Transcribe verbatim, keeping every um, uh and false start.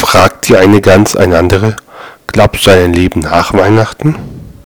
fragt die eine Gans eine andere: Glaubst du an ein Leben nach Weihnachten?